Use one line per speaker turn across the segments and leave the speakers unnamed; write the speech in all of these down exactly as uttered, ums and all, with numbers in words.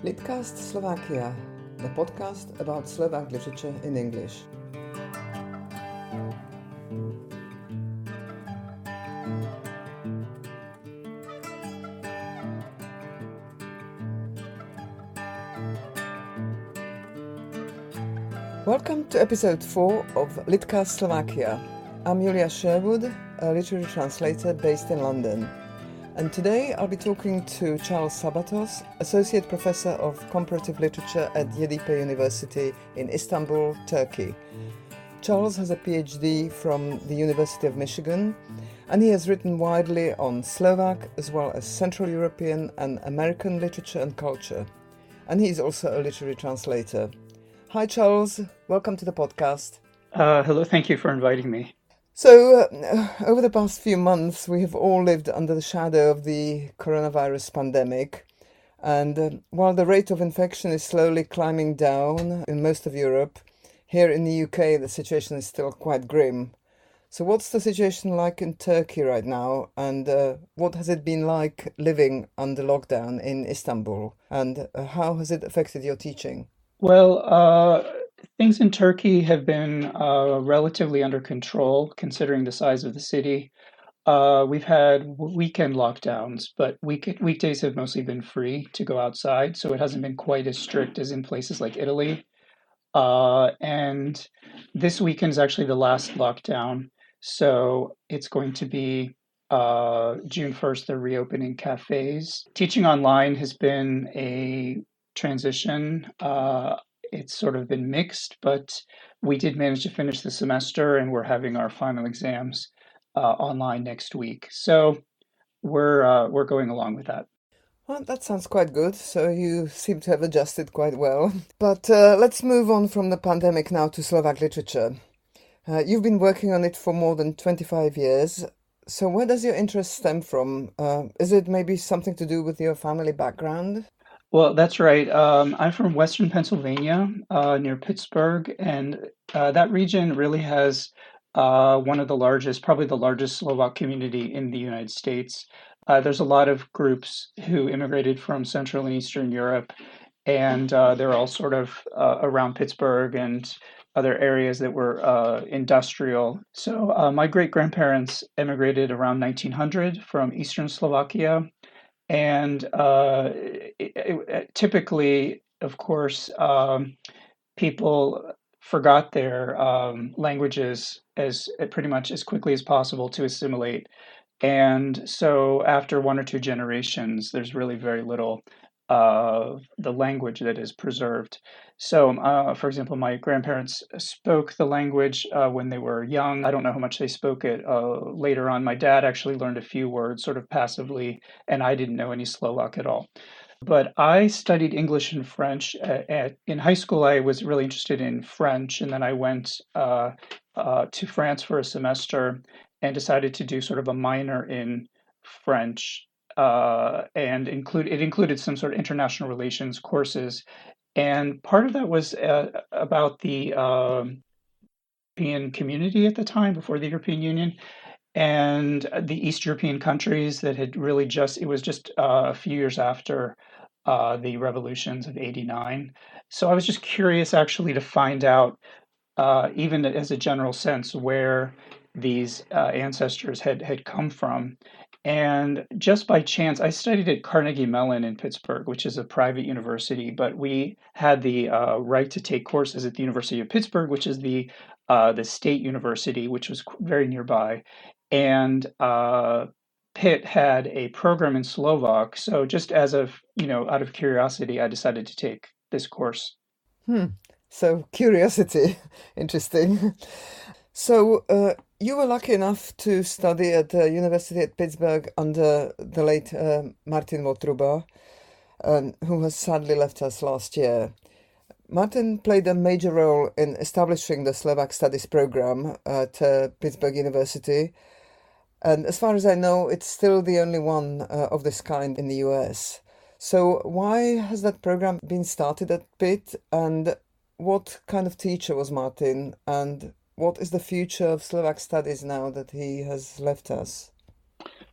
Litcast Slovakia, the podcast about Slovak literature in English. Welcome to episode four of Litcast Slovakia. I'm Julia Sherwood, a literary translator based in London. And today I'll be talking to Charles Sabatos, Associate Professor of Comparative Literature at Yeditepe University in Istanbul, Turkey. Charles has a PhD from the University of Michigan, and he has written widely on Slovak as well as Central European and American literature and culture. And he is also a literary translator. Hi Charles, welcome to the podcast.
Uh, hello, thank you for inviting me.
So, uh, over the past few months, we have all lived under the shadow of the coronavirus pandemic. And uh, while the rate of infection is slowly climbing down in most of Europe, here in the U K, the situation is still quite grim. So what's the situation like in Turkey right now? And uh, what has it been like living under lockdown in Istanbul? And uh, how has it affected your teaching?
Well, uh, things in Turkey have been uh, relatively under control considering the size of the city. Uh, we've had weekend lockdowns, but week weekdays have mostly been free to go outside, so it hasn't been quite as strict as in places like Italy. Uh, and this weekend is actually the last lockdown, so it's going to be uh, June first, they're reopening cafes. Teaching online has been a transition. Uh, it's sort of been mixed, but we did manage to finish the semester and we're having our final exams uh, online next week. So we're uh, we're going along with that.
Well, that sounds quite good. So you seem to have adjusted quite well. But uh, let's move on from the pandemic now to Slovak literature. Uh, you've been working on it for more than twenty-five years. So where does your interest stem from? Uh, is it maybe something to do with your family background?
Well, that's right. Um, I'm from Western Pennsylvania, uh, near Pittsburgh, and uh, that region really has uh, one of the largest, probably the largest Slovak community in the United States. Uh, there's a lot of groups who immigrated from Central and Eastern Europe, and uh, they're all sort of uh, around Pittsburgh and other areas that were uh, industrial. So uh, my great-grandparents immigrated around nineteen hundred from Eastern Slovakia. And uh, it, it, typically, of course, um, people forgot their um, languages as pretty much as quickly as possible to assimilate. And so after one or two generations, there's really very little uh, the language that is preserved. So, uh, for example, my grandparents spoke the language uh, when they were young. I don't know how much they spoke it uh, later on. My dad actually learned a few words sort of passively, and I didn't know any Slovak at all. But I studied English and French. At, at, in high school, I was really interested in French, and then I went uh, uh, to France for a semester and decided to do sort of a minor in French. Uh, and include it included some sort of international relations courses, and part of that was uh, about the uh, European community at the time, before the European Union, and the East European countries that had really just, it was just uh, a few years after uh, the revolutions of eighty-nine. So I was just curious actually to find out, uh, even as a general sense, where these uh, ancestors had, had come from. And just by chance, I studied at Carnegie Mellon in Pittsburgh, which is a private university, but we had the uh, right to take courses at the University of Pittsburgh, which is the uh, the state university, which was very nearby. And uh, Pitt had a program in Slovak. So just as of, you know, out of curiosity, I decided to take this course.
Hmm. So curiosity, interesting. So uh, you were lucky enough to study at the University at Pittsburgh under the late uh, Martin Votruba, um, who has sadly left us last year. Martin played a major role in establishing the Slovak Studies program at uh, Pittsburgh University. And as far as I know, it's still the only one uh, of this kind in the U S. So why has that program been started at Pitt? And what kind of teacher was Martin? And what is the future of Slovak studies now that he has left us?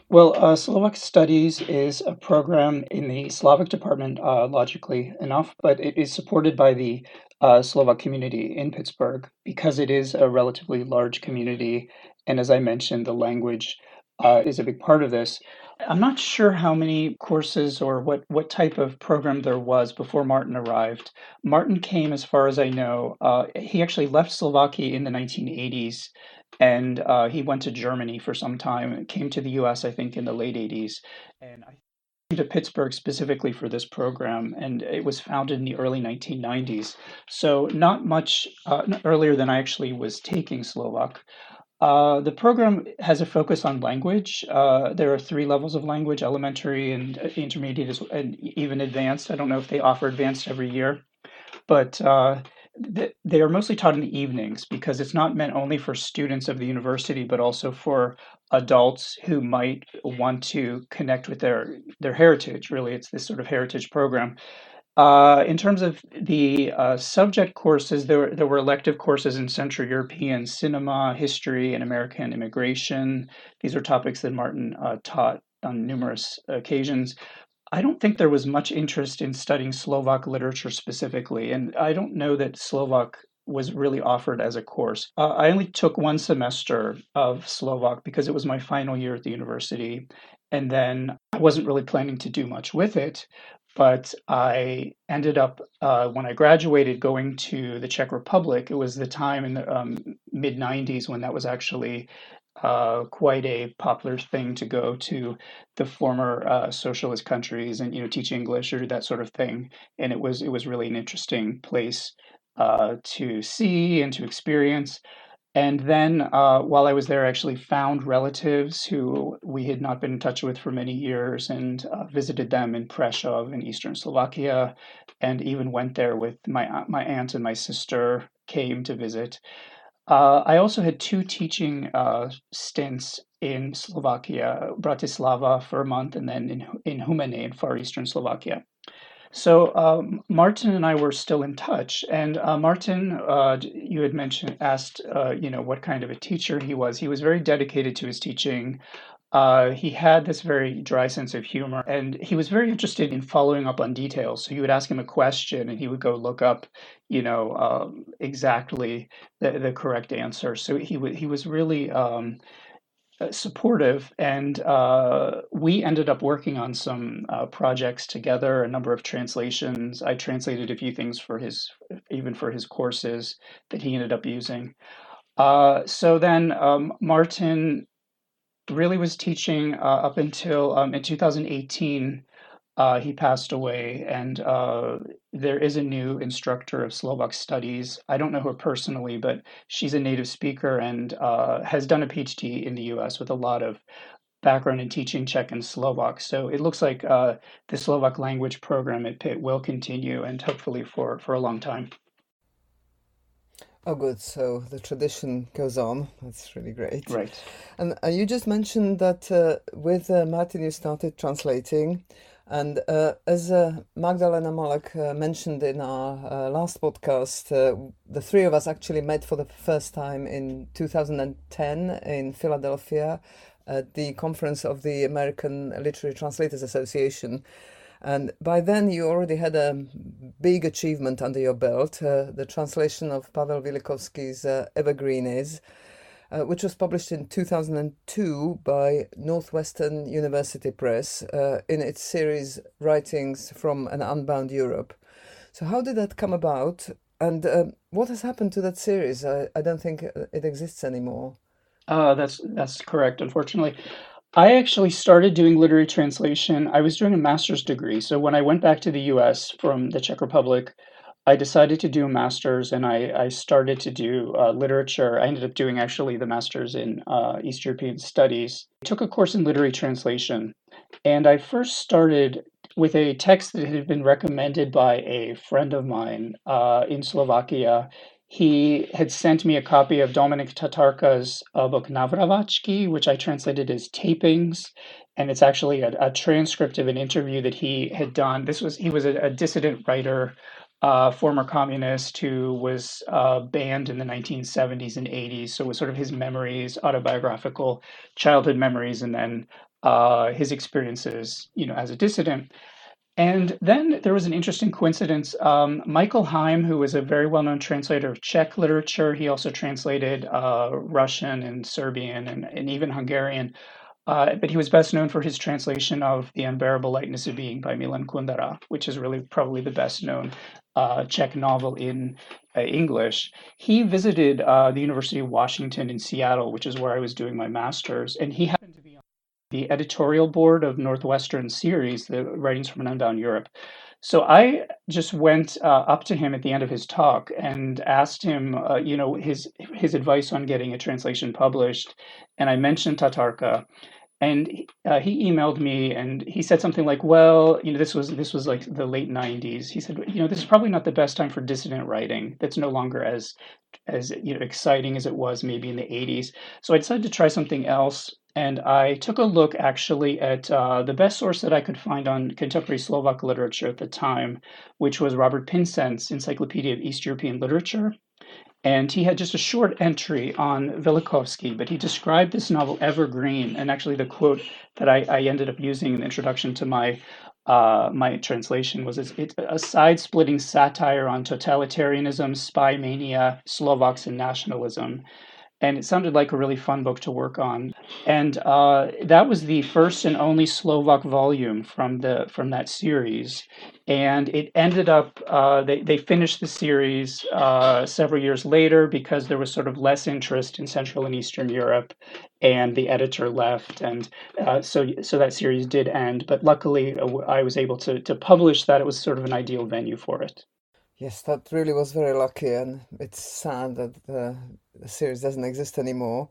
Well, uh, Slovak Studies is a program in the Slavic department, uh, logically enough, but it is supported by the uh, Slovak community in Pittsburgh because it is a relatively large community. And as I mentioned, the language uh, is a big part of this. I'm not sure how many courses or what, what type of program there was before Martin arrived. Martin came, as far as I know, uh, he actually left Slovakia in the nineteen eighties and uh, he went to Germany for some time and came to the U S, I think, in the late eighties. And I came to Pittsburgh specifically for this program, and it was founded in the early nineteen nineties. So, not much uh, earlier than I actually was taking Slovak. Uh, the program has a focus on language. Uh, there are three levels of language: elementary and uh, intermediate, and even advanced. I don't know if they offer advanced every year, but uh, th- they are mostly taught in the evenings because it's not meant only for students of the university, but also for adults who might want to connect with their their heritage. Really, it's this sort of heritage program. Uh, in terms of the uh, subject courses, there, there were elective courses in Central European cinema, history, and American immigration. These are topics that Martin uh, taught on numerous occasions. I don't think there was much interest in studying Slovak literature specifically, and I don't know that Slovak was really offered as a course. Uh, I only took one semester of Slovak because it was my final year at the university, and then I wasn't really planning to do much with it. But I ended up, uh, when I graduated, going to the Czech Republic. It was the time in the um, mid nineties when that was actually uh, quite a popular thing to go to the former uh, socialist countries and you know teach English or that sort of thing. And it was it was really an interesting place uh, to see and to experience. And then uh, while I was there, I actually found relatives who we had not been in touch with for many years and uh, visited them in Prešov in eastern Slovakia, and even went there with my my aunt and my sister came to visit. Uh, I also had two teaching uh, stints in Slovakia, Bratislava for a month, and then in in Humene in far eastern Slovakia. So um, Martin and I were still in touch, and uh, Martin, uh, you had mentioned, asked, uh, you know, what kind of a teacher he was. He was very dedicated to his teaching. Uh, he had this very dry sense of humor, and he was very interested in following up on details. So you would ask him a question, and he would go look up, you know, um, exactly the, the correct answer. So he wa he was really um, uh, supportive, and uh, we ended up working on some uh, projects together, a number of translations. I translated a few things for his, even for his courses that he ended up using. Uh, so then um, Martin really was teaching uh, up until um, in two thousand eighteen. Uh, he passed away, and uh, there is a new instructor of Slovak studies. I don't know her personally, but she's a native speaker and uh, has done a PhD in the U S with a lot of background in teaching Czech and Slovak. So it looks like uh, the Slovak language program at Pitt will continue, and hopefully for, for a long time.
Oh, good. So the tradition goes on. That's really great.
Right.
And uh, you just mentioned that uh, with uh, Martin you started translating. And uh, as uh, Magdalena Malek uh, mentioned in our uh, last podcast, uh, the three of us actually met for the first time in two thousand ten in Philadelphia at the conference of the American Literary Translators Association. And by then, you already had a big achievement under your belt, uh, the translation of Pavel Vilikovsky's uh, Evergreenes, uh, which was published in two thousand two by Northwestern University Press uh, in its series Writings from an Unbound Europe. So, how did that come about? And um, what has happened to that series? I, I don't think it exists anymore.
Uh, that's that's correct, unfortunately. I actually started doing literary translation. I was doing a master's degree. So when I went back to the U S from the Czech Republic, I decided to do a master's and I, I started to do uh, literature. I ended up doing actually the master's in uh, East European Studies. I took a course in literary translation, and I first started with a text that had been recommended by a friend of mine uh, in Slovakia. He had sent me a copy of Dominik Tatarka's uh, book Navravačky, which I translated as Tapings, and it's actually a, a transcript of an interview that he had done. This was he was a, a dissident writer, uh, former communist who was uh, banned in the nineteen seventies and eighties. So it was sort of his memories, autobiographical childhood memories, and then uh, his experiences, you know, as a dissident. And then there was an interesting coincidence. Um, Michael Heim, who was a very well-known translator of Czech literature, he also translated uh, Russian and Serbian and, and even Hungarian. Uh, but he was best known for his translation of The Unbearable Lightness of Being by Milan Kundera, which is really probably the best known uh, Czech novel in uh, English. He visited uh, the University of Washington in Seattle, which is where I was doing my master's, and he happened to be on the editorial board of Northwestern series, the Writings from an Unbound Europe. So I just went uh, up to him at the end of his talk and asked him, uh, you know, his his advice on getting a translation published, and I mentioned Tatarka, and uh, he emailed me and he said something like, well, you know, this was this was like the late nineties. He said, you know, this is probably not the best time for dissident writing. That's no longer as as you know exciting as it was maybe in the eighties. So I decided to try something else. And I took a look actually at uh, the best source that I could find on contemporary Slovak literature at the time, which was Robert Pinsent's Encyclopedia of East European Literature. And he had just a short entry on Velikovsky, but he described this novel Evergreen. And actually, the quote that I, I ended up using in the introduction to my uh, my translation was it's, it's a side-splitting satire on totalitarianism, spy mania, Slovaks, and nationalism. And it sounded like a really fun book to work on. And uh, that was the first and only Slovak volume from the from that series. And it ended up uh, they they finished the series uh, several years later because there was sort of less interest in Central and Eastern Europe, and the editor left, and uh, so so that series did end. But luckily, uh, I was able to to publish that. It was sort of an ideal venue for it.
Yes, that really was very lucky, and it's sad that the, the series doesn't exist anymore.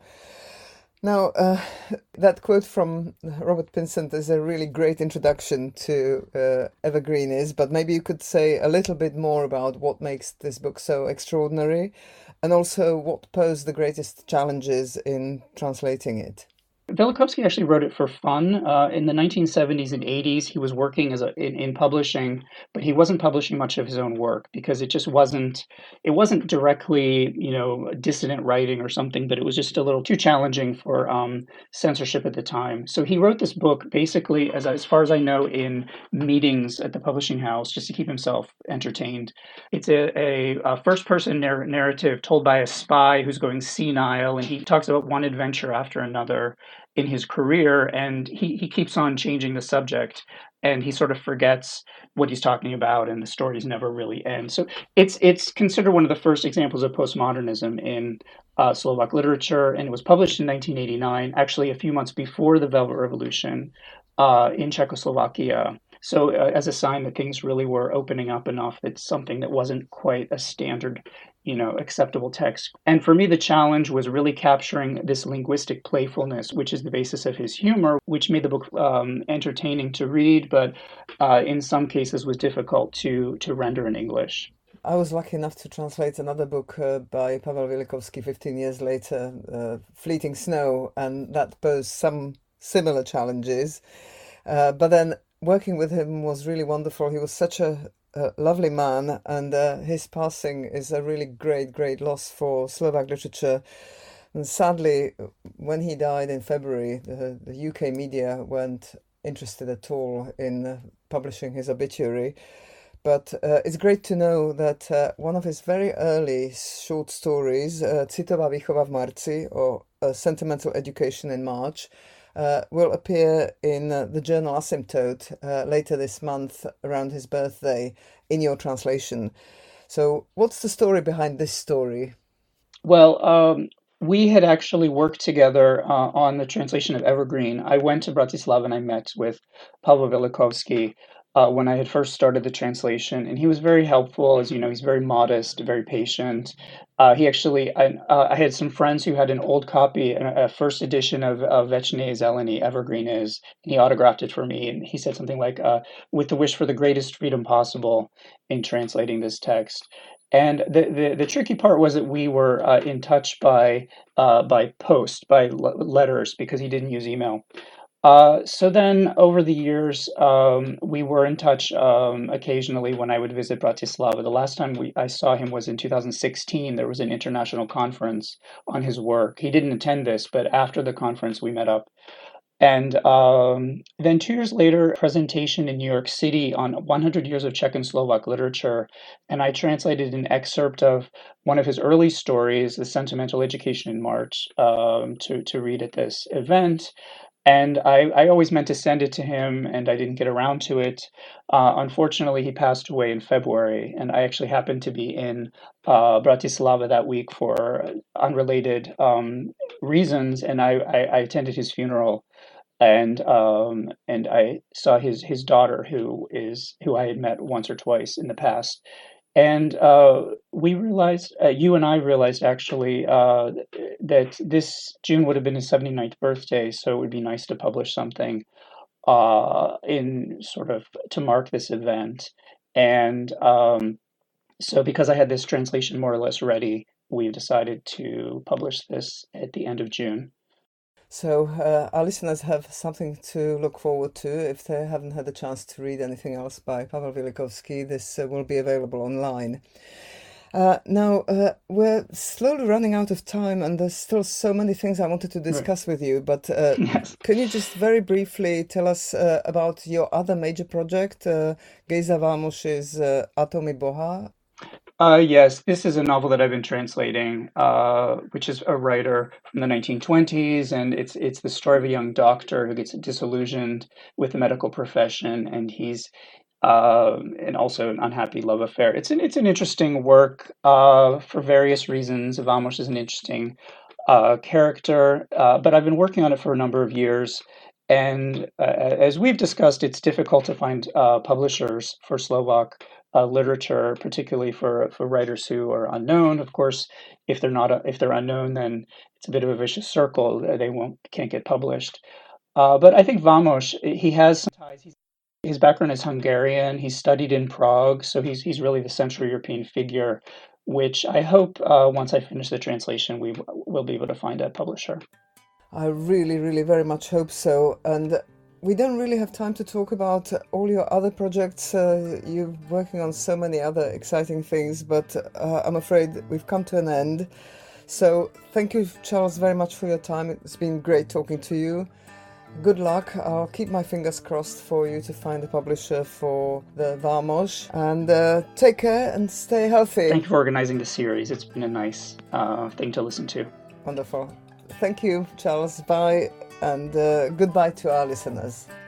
Now, uh, that quote from Robert Pinsent is a really great introduction to uh, Evergreen is, but maybe you could say a little bit more about what makes this book so extraordinary, and also what posed the greatest challenges in translating it.
Velikovsky actually wrote it for fun. Uh, in the nineteen seventies and eighties, he was working as a, in, in publishing, but he wasn't publishing much of his own work because it just wasn't it wasn't directly, you know, dissident writing or something, but it was just a little too challenging for um, censorship at the time. So he wrote this book basically, as as far as I know, in meetings at the publishing house, just to keep himself entertained. It's a, a, a first-person narr- narrative told by a spy who's going senile, and he talks about one adventure after another in his career, and he, he keeps on changing the subject, and he sort of forgets what he's talking about, and the stories never really end. So it's it's considered one of the first examples of postmodernism in uh, Slovak literature, and it was published in nineteen eighty-nine, actually a few months before the Velvet Revolution uh, in Czechoslovakia. So uh, as a sign that things really were opening up enough, it's something that wasn't quite a standard, you know, acceptable text. And for me, the challenge was really capturing this linguistic playfulness, which is the basis of his humor, which made the book um, entertaining to read, but uh, in some cases was difficult to to render in English.
I was lucky enough to translate another book uh, by Pavel Velikovsky fifteen years later, uh, Fleeting Snow, and that posed some similar challenges. Uh, but then working with him was really wonderful. He was such a, a lovely man, and uh, his passing is a really great, great loss for Slovak literature. And sadly, when he died in February, the, the U K media weren't interested at all in uh, publishing his obituary. But uh, it's great to know that uh, one of his very early short stories, uh, Citová výchova v marci, or uh, Sentimental Education in March, uh, will appear in uh, the journal Asymptote uh, later this month around his birthday in your translation. So what's the story behind this story?
Well, um, we had actually worked together uh, on the translation of Evergreen. I went to Bratislava and I met with Pavel Velikovsky uh, when I had first started the translation, and he was very helpful. As you know, he's very modest, very patient. Uh, he actually, I, uh, I had some friends who had an old copy, a, a first edition of, of Večné Zelení, Evergreen is, and he autographed it for me. And he said something like, uh, with the wish for the greatest freedom possible in translating this text. And the, the, the tricky part was that we were uh, in touch by uh, by post, by l- letters, because he didn't use email. Uh, so then over the years, um, we were in touch um, occasionally when I would visit Bratislava. The last time we, I saw him was in two thousand sixteen. There was an international conference on his work. He didn't attend this, but after the conference, we met up. And um, then two years later, a presentation in New York City on one hundred years of Czech and Slovak literature. And I translated an excerpt of one of his early stories, The Sentimental Education in March, um, to, to read at this event. And I, I always meant to send it to him, and I didn't get around to it. Uh, unfortunately, he passed away in February, and I actually happened to be in uh, Bratislava that week for unrelated um, reasons, and I, I, I attended his funeral, and um, and I saw his his daughter, who is who I had met once or twice in the past, and uh, we realized, uh, you and I realized actually, uh, that this June would have been his seventy-ninth birthday, so it would be nice to publish something uh, in sort of to mark this event. And um, so, because I had this translation more or less ready, we've decided to publish this at the end of June.
So uh, our listeners have something to look forward to. If they haven't had a chance to read anything else by Pavel Vilikovsky, this uh, will be available online. Uh, now, uh, we're slowly running out of time, and there's still so many things I wanted to discuss with you. But uh,
Yes.
can you just very briefly tell us uh, about your other major project, uh, Gejza Vámos's uh, Atomy Boha?
Uh, yes, this is a novel that I've been translating, uh, which is a writer from the nineteen twenties, and it's it's the story of a young doctor who gets disillusioned with the medical profession, and he's uh, and also an unhappy love affair. It's an it's an interesting work uh, for various reasons. Vamos is an interesting uh, character, uh, but I've been working on it for a number of years. And uh, as we've discussed, it's difficult to find uh, publishers for Slovak uh, literature, particularly for for writers who are unknown. Of course, if they're not a, if they're unknown, then it's a bit of a vicious circle. They won't can't get published. Uh, but I think Vamos, he has some ties. He's, his background is Hungarian. He studied in Prague, so he's he's really the Central European figure, which I hope uh, once I finish the translation, we will be able to find a publisher.
I really, really very much hope so. And we don't really have time to talk about all your other projects. Uh, you're working on so many other exciting things, but uh, I'm afraid we've come to an end. So thank you, Charles, very much for your time. It's been great talking to you. Good luck. I'll keep my fingers crossed for you to find a publisher for the Vamos. And uh, take care and stay healthy.
Thank you for organizing the series. It's been a nice uh, thing to listen to.
Wonderful. Thank you, Charles. Bye, and uh, goodbye to our listeners.